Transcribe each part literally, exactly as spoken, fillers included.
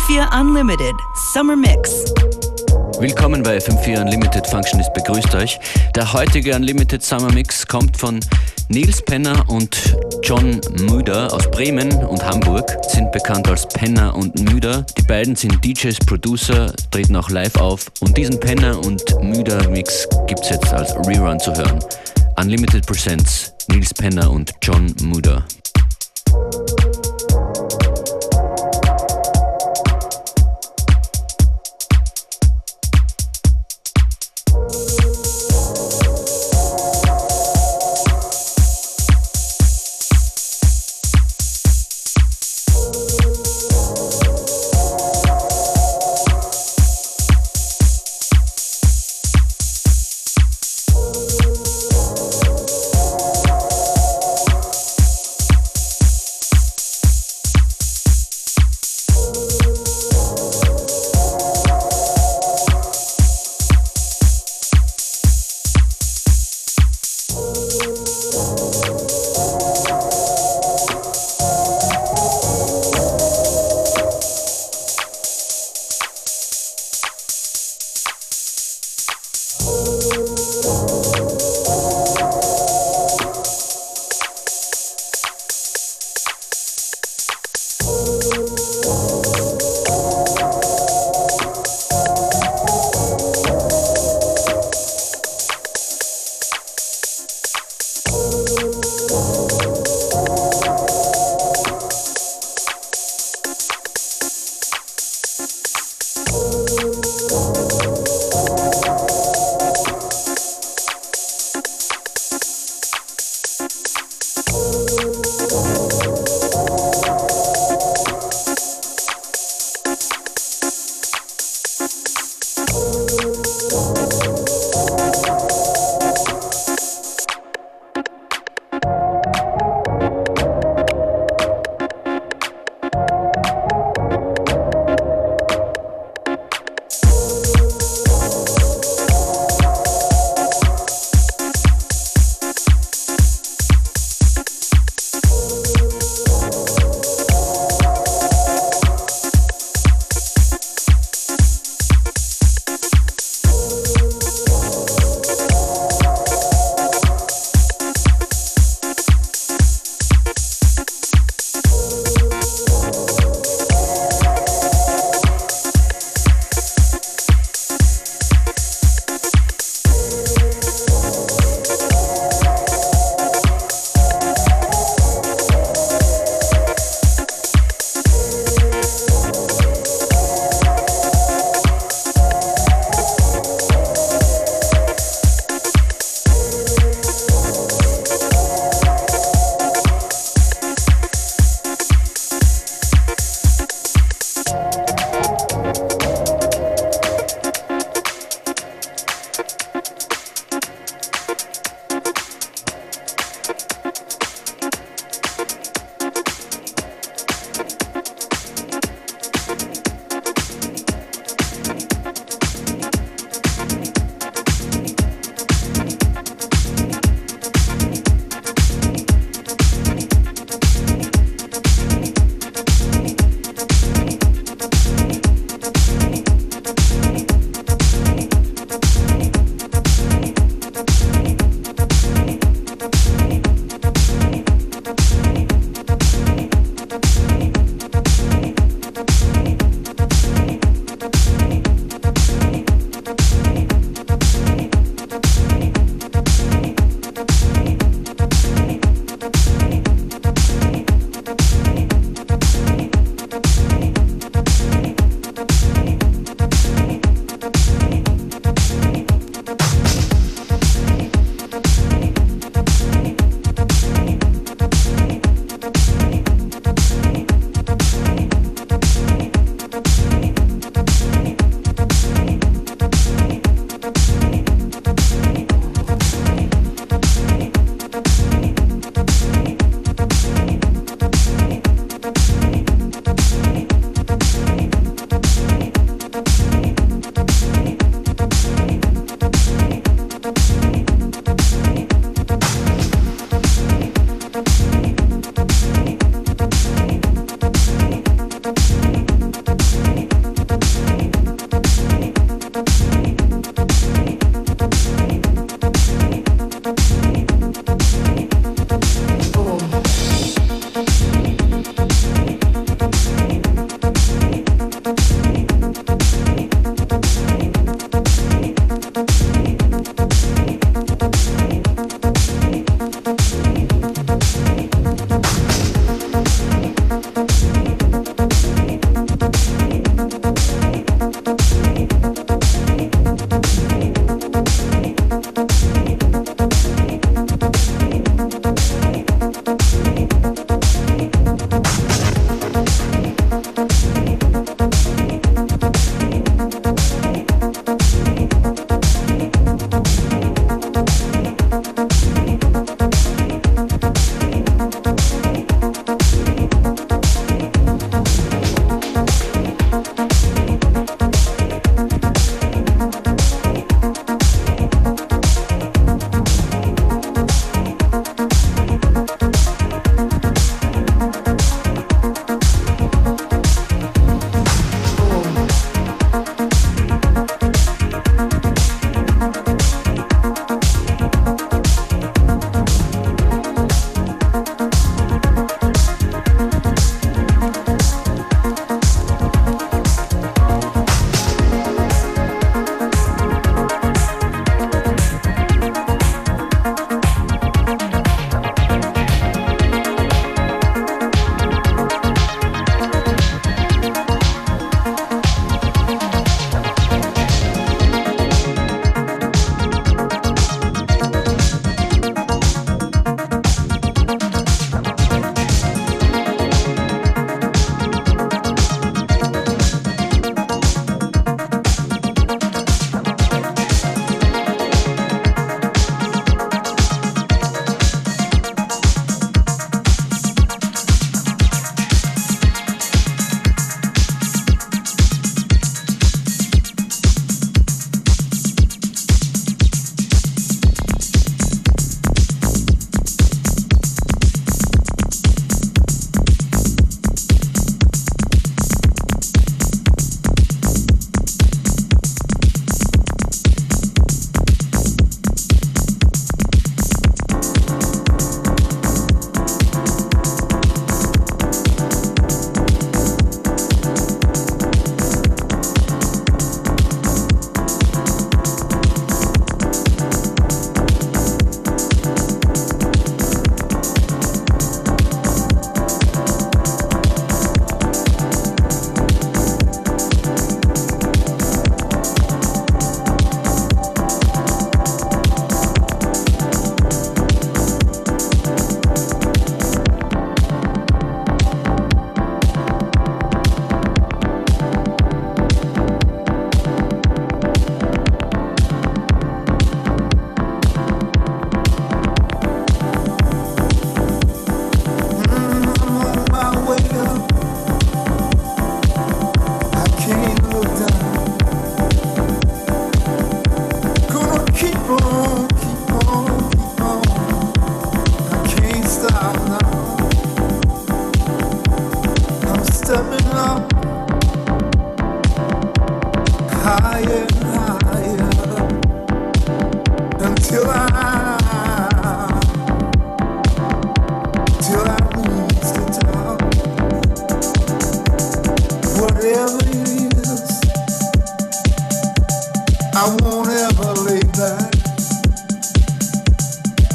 vier Unlimited Summer Mix. Willkommen bei F M vier Unlimited. Functionist begrüßt euch. Der heutige Unlimited Summer Mix kommt von Nils Penner und John Müder aus Bremen und Hamburg, sind bekannt als Penner und Müder. Die beiden sind D Js, Producer, treten auch live auf und diesen Penner und Müder Mix gibt's jetzt als Rerun zu hören. Unlimited Presents Nils Penner und John Müder.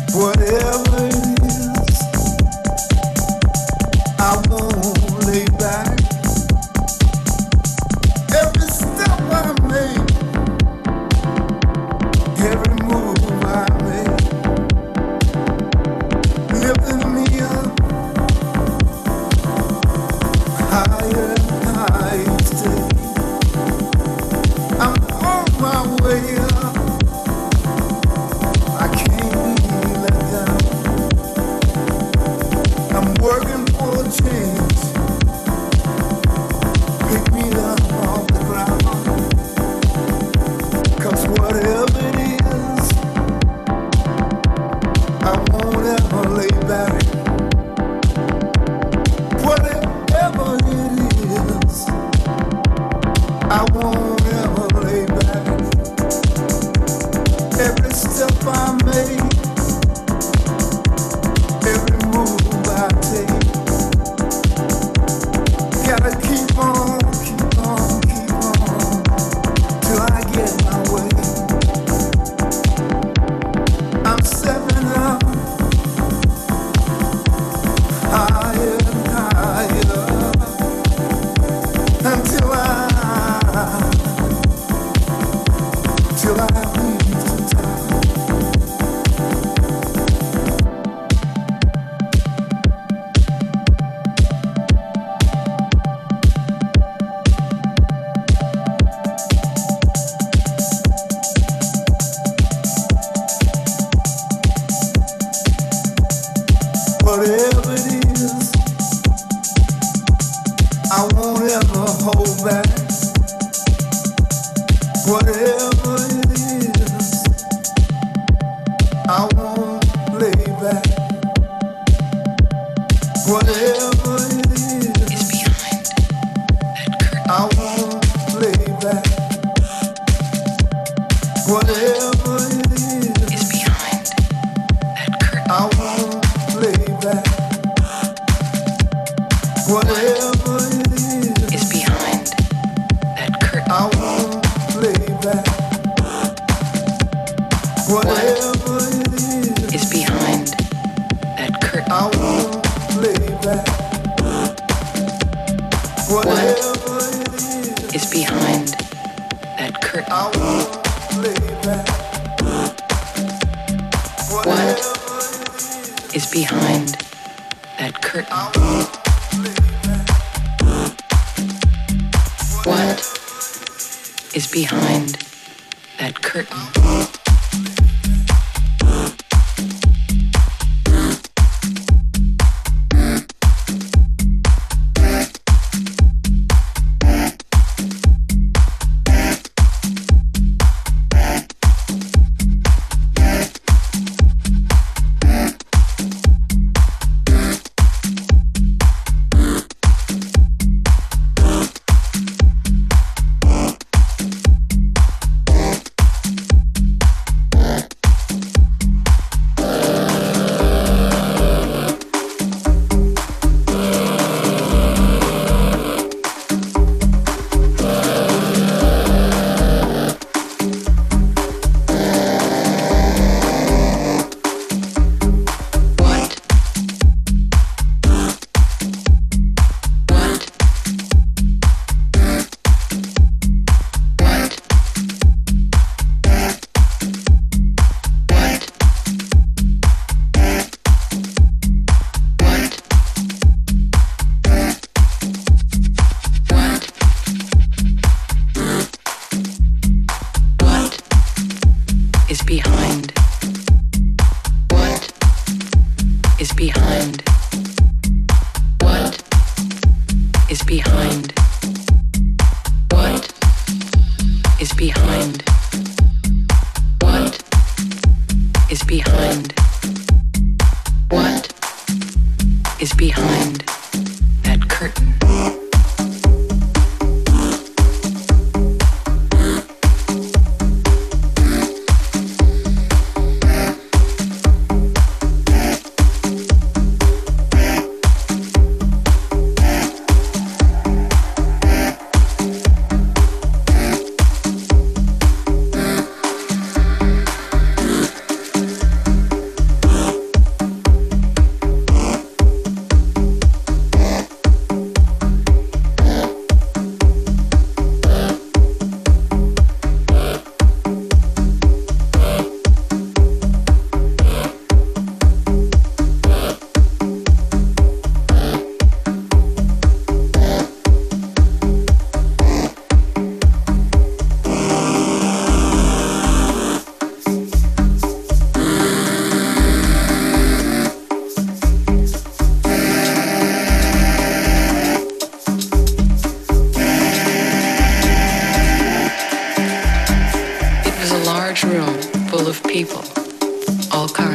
Whatever it is, I won't lay back. Every step I make, every move I make, lifting me up higher and higher each day. I'm on my way up. I can't be let down. I'm working for a change. Pick me up off the ground. 'Cause whatever it is, I won't ever lay back. Whatever it is, I won't ever lay back. Every step I make, every move I take, gotta keep on, keep on, keep on, till I get my way. I'm stepping up higher and higher until I, till I reach the top. Whatever it is, I won't ever hold back. Whatever it is, I won't lay back. Whatever it is, I won't lay back. Whatever it is, I won't lay back. Whatever it is, is behind that curtain. I won't lay back. Whatever it is, is behind that curtain. I won't lay back. Whatever it is, is behind that curtain. I won't lay back. Whatever it is, is behind that curtain. I won't lay back. What is behind that curtain?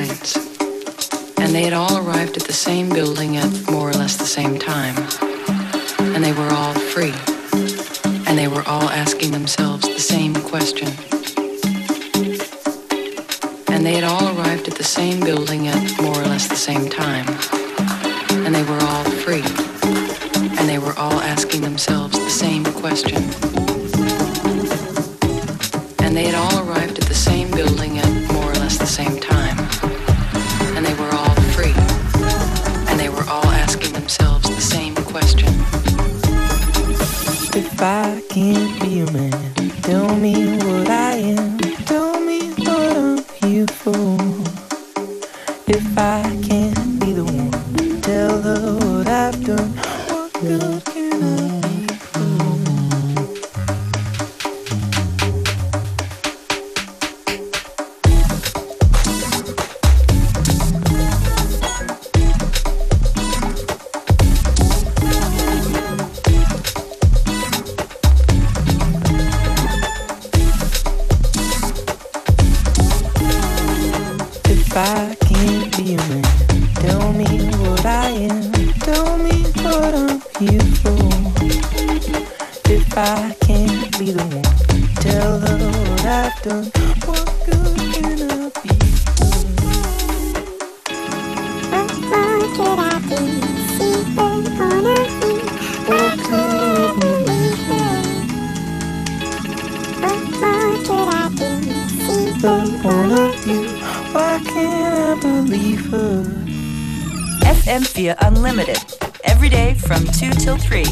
science. And they had all arrived at the same building at more or less the same time. And they were all free. And they were all asking themselves the same question. And they had all arrived at the same building at more or less the same time. And they were all free. And they were all asking themselves the same question. And they had all arrived at the same building at more or less the same time. And they were all free. And they were all asking themselves the same question. If I can't be a man, tell me what I am. Tell me what I'm here for. If I can't be the one, tell her what I've done. What good can I be for? If I can't be a man, tell me what I am. Tell me what I'm here for. If I can't be the one, tell her what I've done. What good can I be for? What more could I do? See the point of view. What could I be for? What more could I do? See the point of view. Why can't I believe her? F M vier Unlimited. Every day from two till three.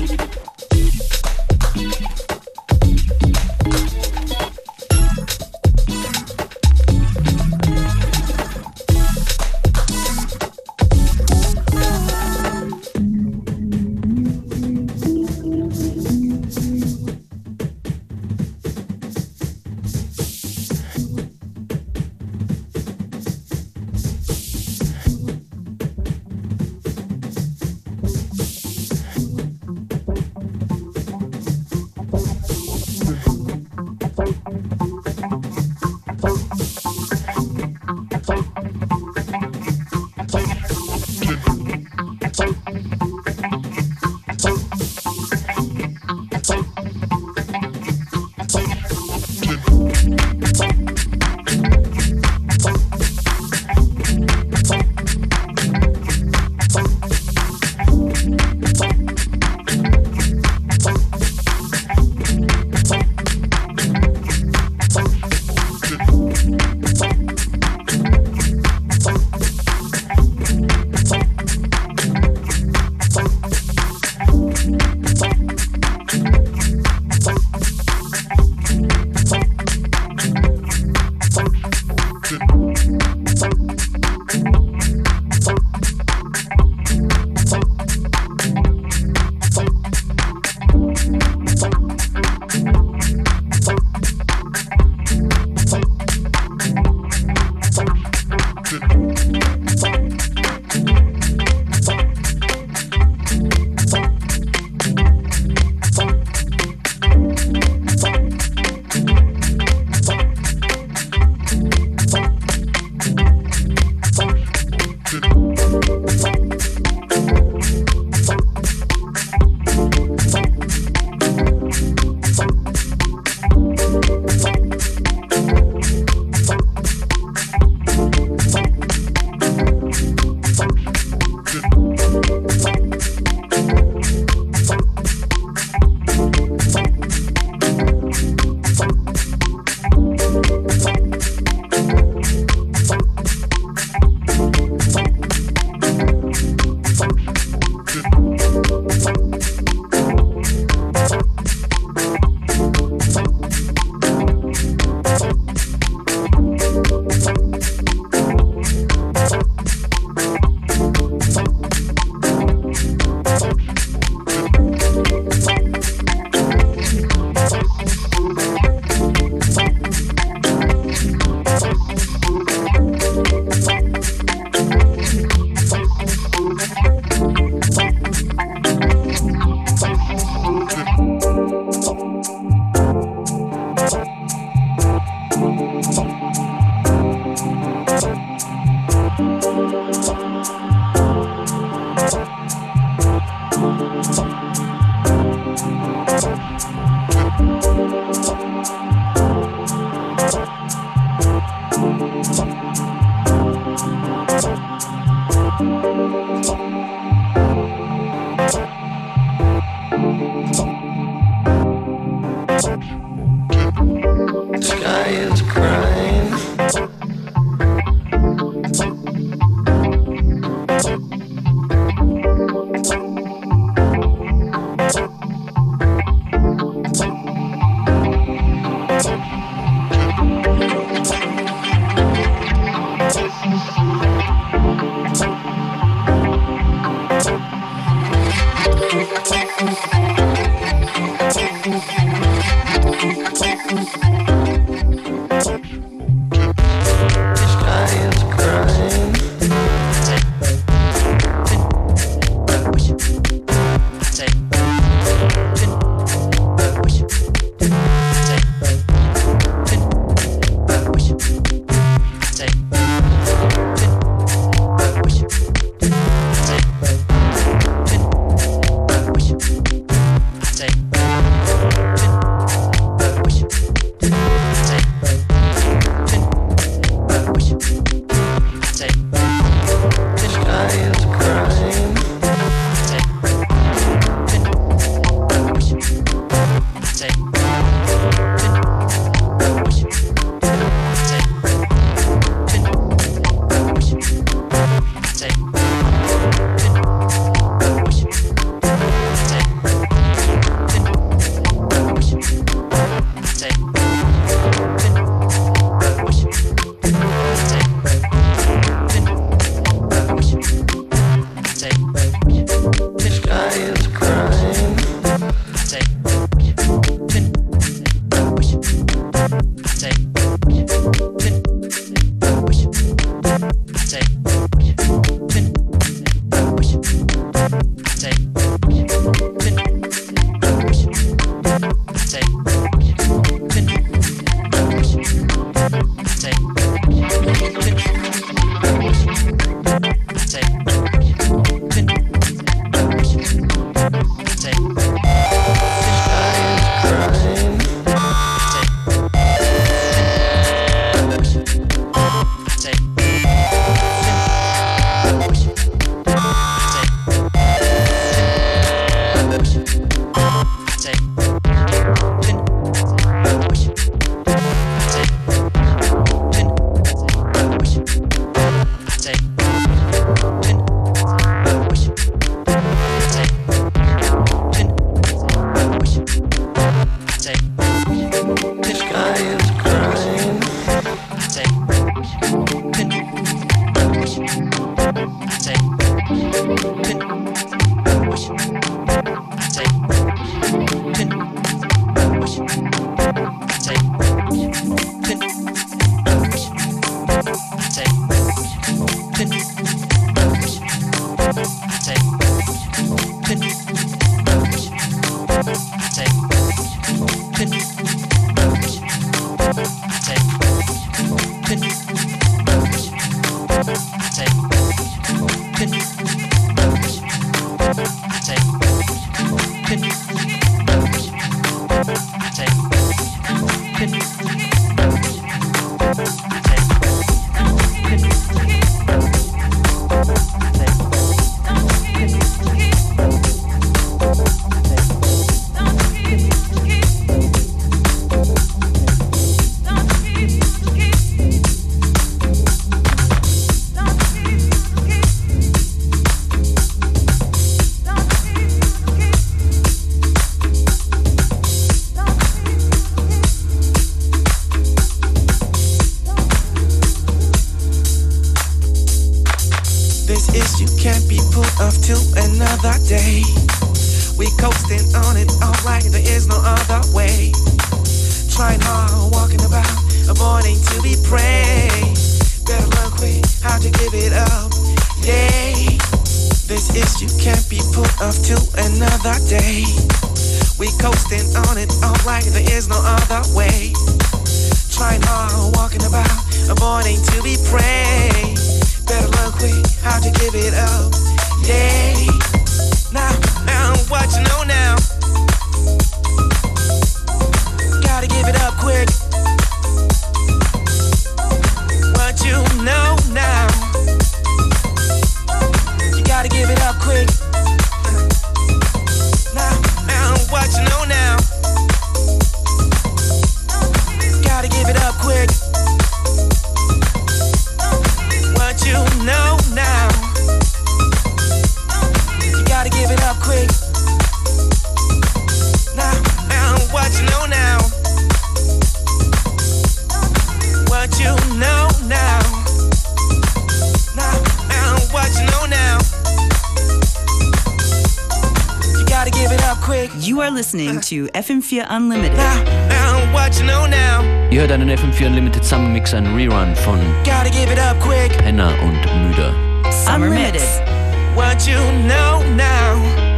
quick. You are listening to F M four Unlimited. Now, now, what you know now. Ihr hört einen F M four Unlimited Summer Mix, ein Rerun von Gotta give it up quick. Penner und Müder. Summer Mix. What you know now.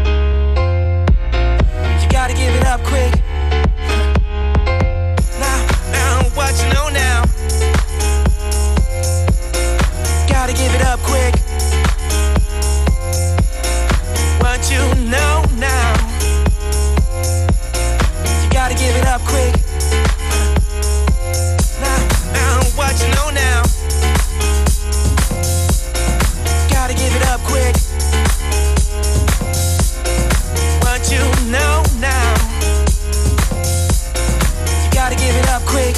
You gotta give it up quick. Now, now, what you know now. Gotta give it up quick. What you know now. You gotta give it up quick. Now, now, what you know now. Gotta give it up quick. What you know now. You gotta give it up quick.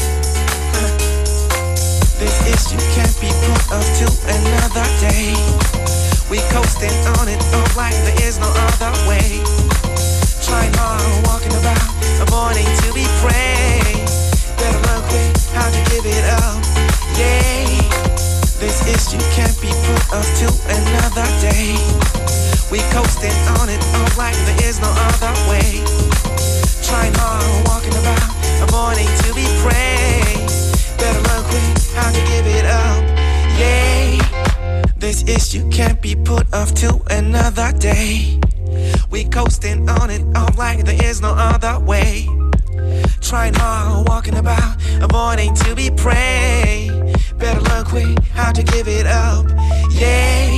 This issue can't be put off to another day. We coasting on it all like there is no other way. Trying hard, walking about, avoiding to be prey. Better learn quick how to give it up. Yeah. This issue can't be put off to another day. We coasting on it all like there is no other way. Trying hard, walking about, avoiding to be prey. Better learn quick how to give it up. Yeah. This issue can't be put off to another day. We coasting on it all like there is no other way. Trying hard, walking about, avoiding to be prey. Better learn quick how to give it up. Yeah.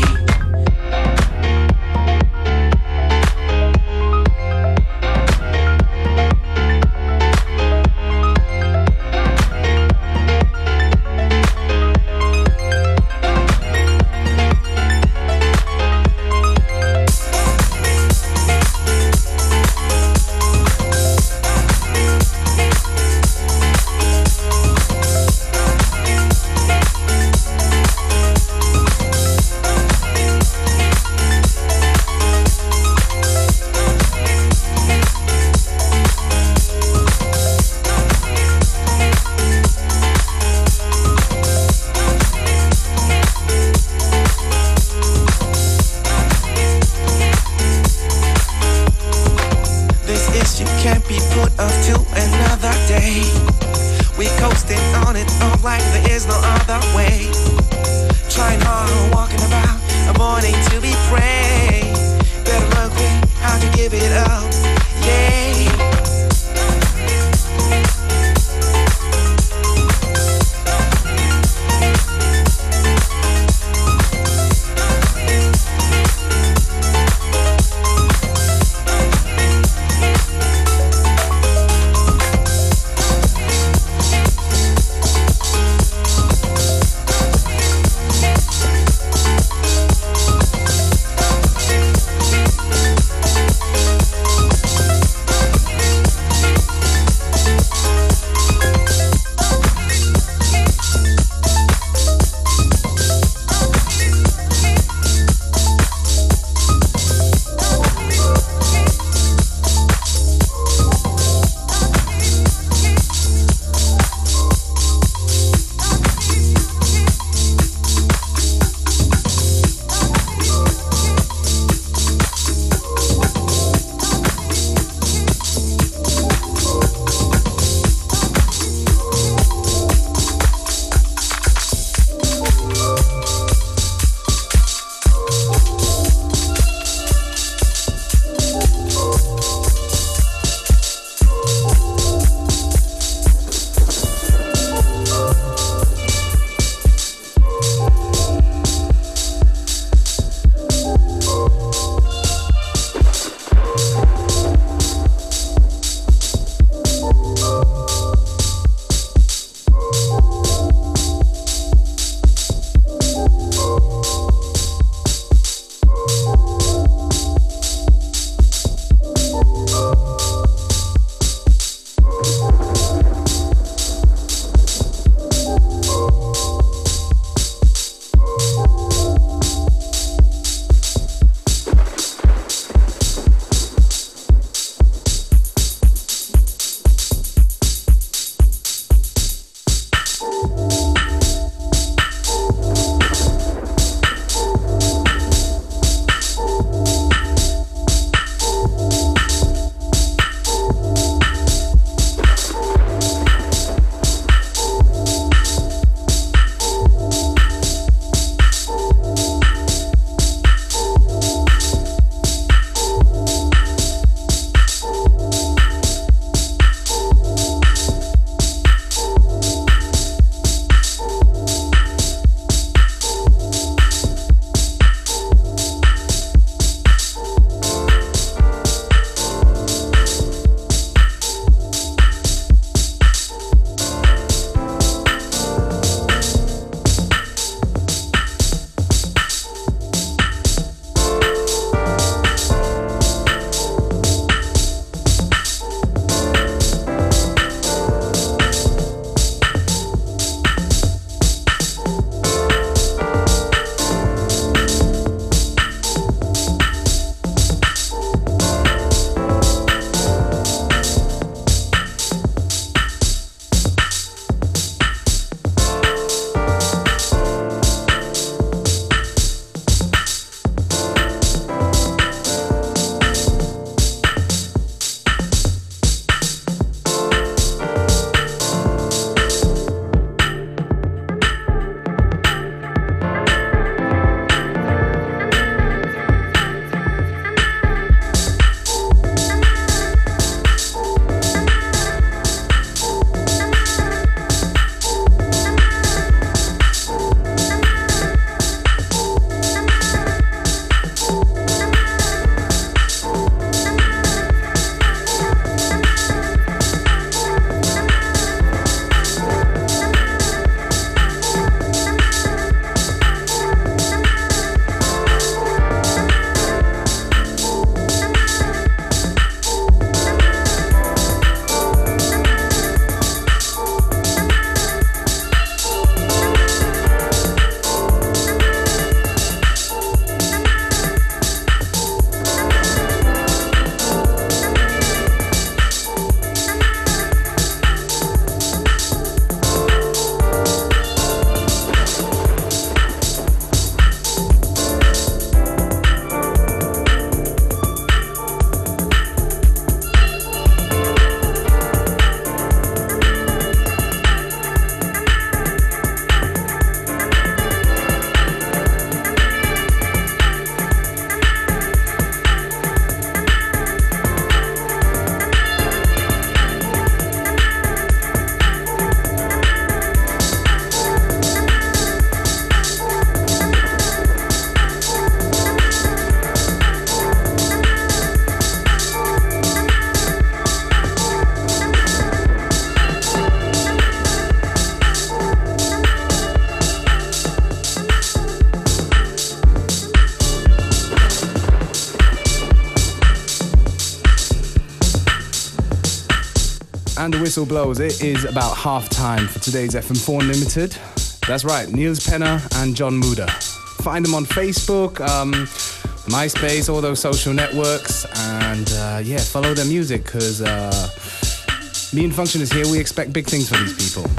And the whistle blows. It is about half time for today's F M four Unlimited. That's right, Niels Penner and John Muda. Find them on Facebook, um, MySpace, all those social networks. And uh, yeah, follow their music because uh, me and Function is here. We expect big things for these people.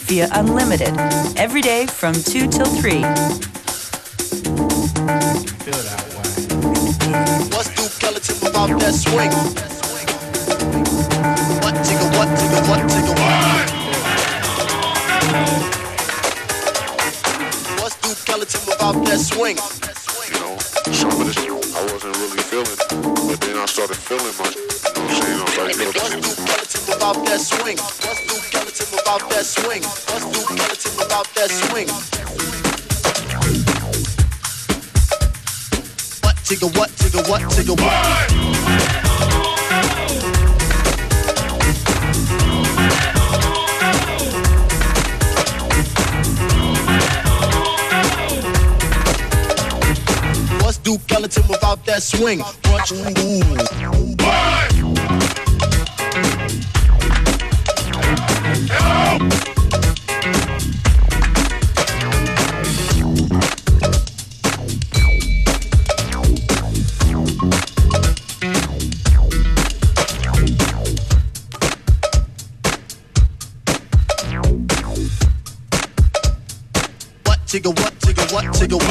via Unlimited, every day from two till three. Feel that way. What's Duke Ellington without that swing? What tigga, what tigga, what tigga, what? What's Duke Ellington without that swing? You know, some of this I wasn't really feeling, but then I started feeling my, you know what I'm saying? I was like, What's Duke Ellington without that swing? What's Duke Ellington without that swing? What's Duke Ellington without that swing? What tigga, what tigga, what tigga, what? What's Duke Ellington without that swing? What? Tigga, what, tigga, what, tigga, what?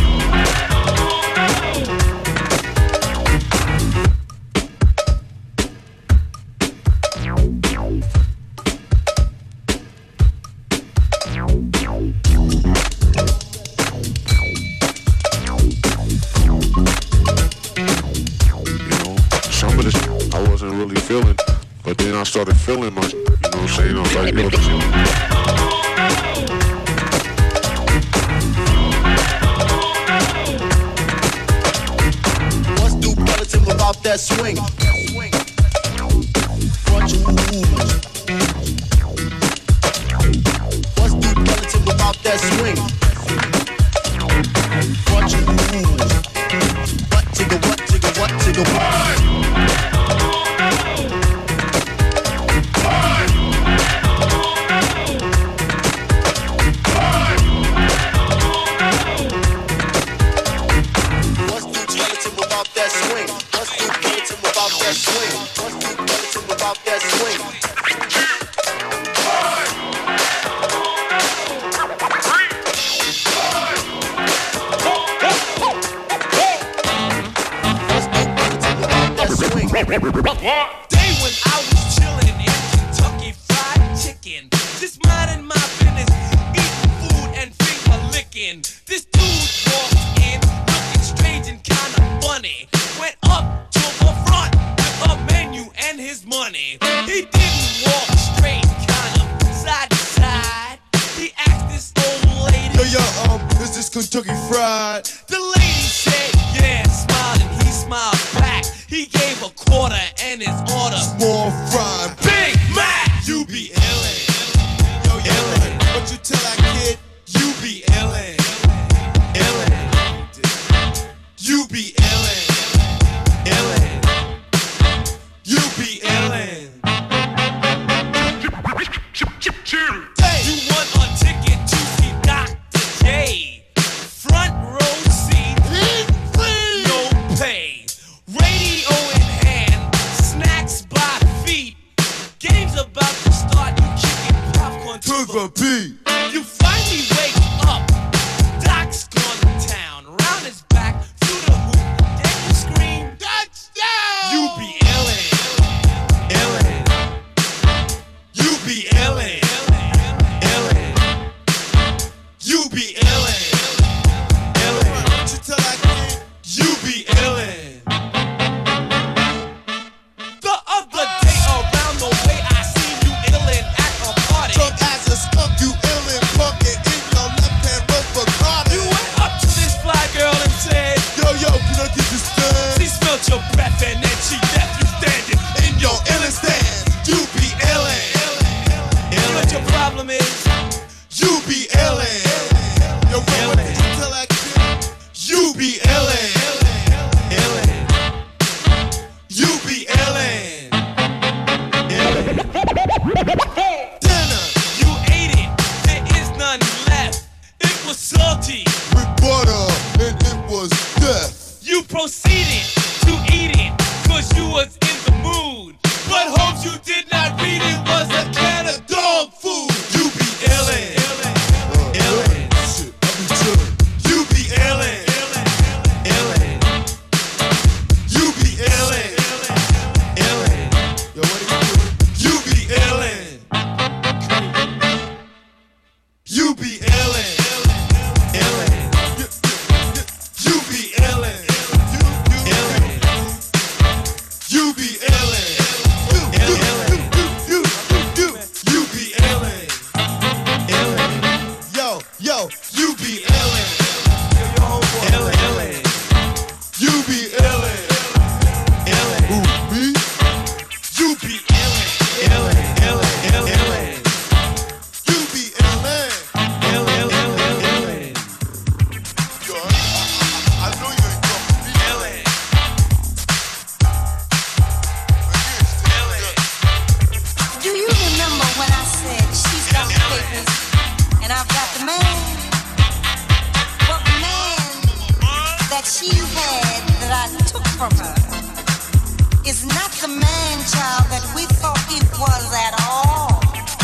But then I started feeling my, you know what I'm saying? I was like, yo, this What's Duke Ellington without that swing? What's Duke Ellington without that swing? What tigga, what tigga, what tigga, what? Day when I was chillin' in Kentucky Fried Chicken, just minding my business, eating food and finger licking. This dude walked in, looking strange and kinda funny. Went up to the front with a menu and his money. He didn't walk straight, kind of side to side. He asked this old lady, Yo, yo, um, is this Kentucky Fried? The lady said, yeah, smiling. He smiled back. He gave a quarter and his order Small fry, Big Mac. You be illin', yo, illin'. What you tell that kid? you be illin', illin'. You be illin', illin'. You be illin'. You want a ticket to see Doctor J? Front row seat, no pay. Radio in hand, snacks by feet. Game's about to start, you kicking popcorn to To the beat. You finally wake up. Doc's gone to town. Round his back, through the hoop. Then you scream, touchdown! You be illin', illin'. You be illin', illin'. You be illin', illin'. What you tell that kid? You be illin'. The other day around the way I seen you illin' at a party. Drunk as a skunk, you illin', punkin' in your left hand, run for Carter. You went up to this fly girl and said, Yo, yo, can I get this stand? she smelled your breath and then she left you standing in your illin' stand. You be illin'. You know what your problem is? You be illin'. Yo, what did you tell that kid? You be illin'. Illin'. You be illin'. Illin'. Dinner You ate it. There is none left. It was salty. with butter, and it was death. You proceeded to eat it, cause you was in the mood. But hopes you did not read it was a can of dog food. You be illin'. that she had that I took from her is not the man-child that we thought he was at all.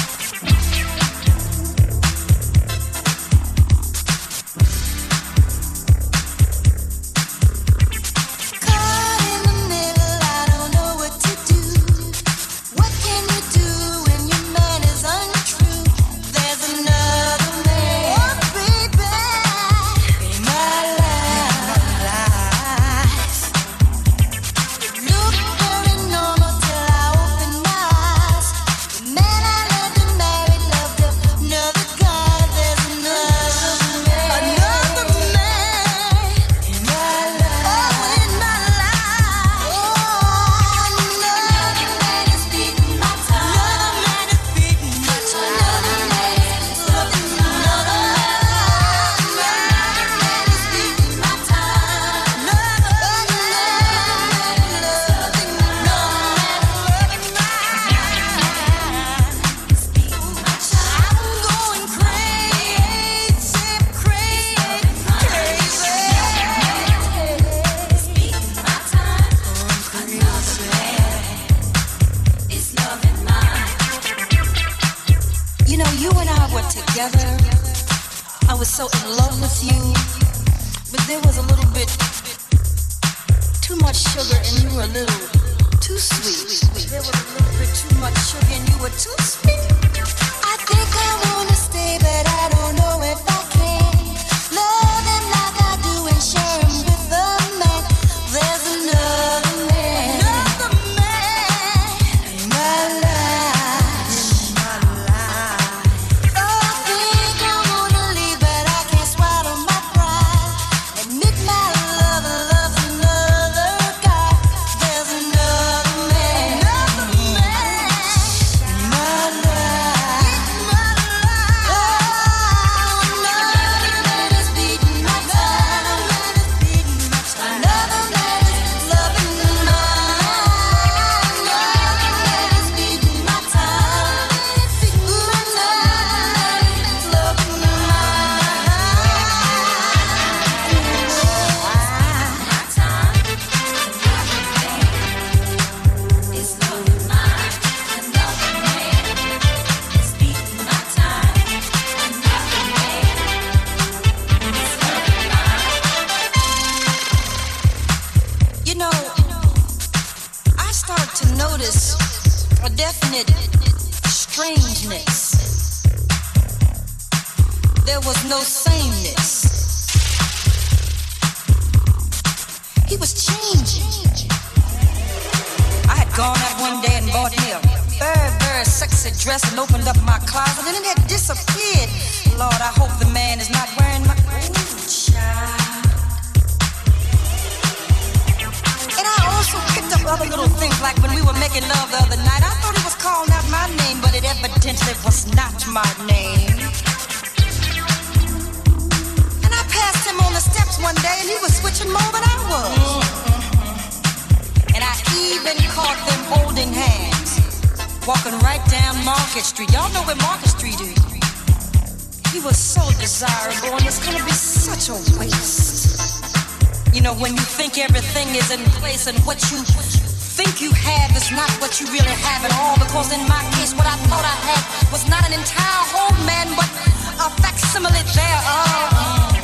And what you think you have is not what you really have at all. Because in my case, what I thought I had was not an entire whole man, but a facsimile there. Oh,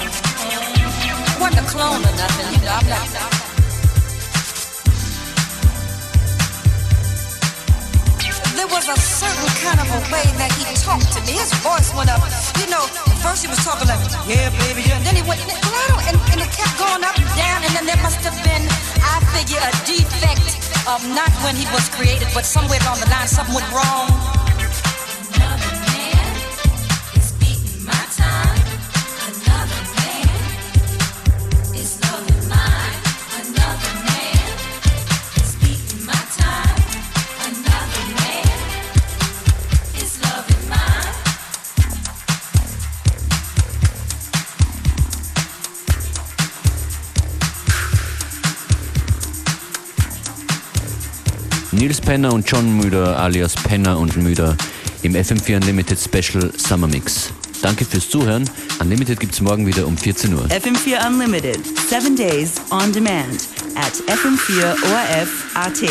wasn't a clone or nothing, you know. I'm not. There was a certain kind of a way that he talked to me. His voice went up. You know, first he was talking like, yeah, baby, yeah. And then he went, and, and it kept going up and down. And then there must have been, I figure, a defect of not when he was created, but somewhere along the line, something went wrong. Another man is beating my time. Another man is loving mine. Another man is beating my time. Another man is loving mine. Nils Penner und John Müder alias Penner und Müder im F M vier Unlimited Special Summer Mix. Danke fürs Zuhören. Unlimited gibt's morgen wieder um vierzehn Uhr. F M vier Unlimited, seven days on demand at f m vier o r f punkt a t.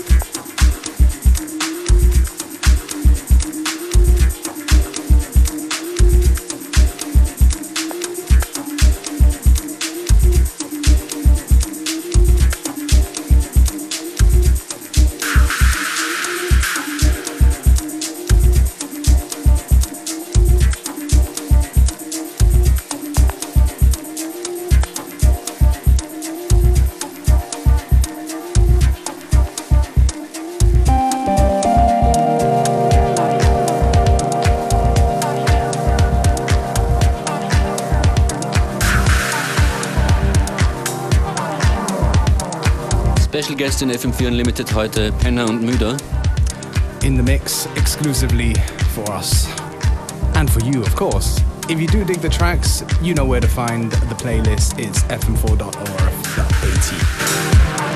Special Guest in F M vier Unlimited heute, Penner und Müder. In the mix exclusively for us. And for you, of course. If you do dig the tracks, you know where to find the playlist. It's f m four dot o r f dot a t.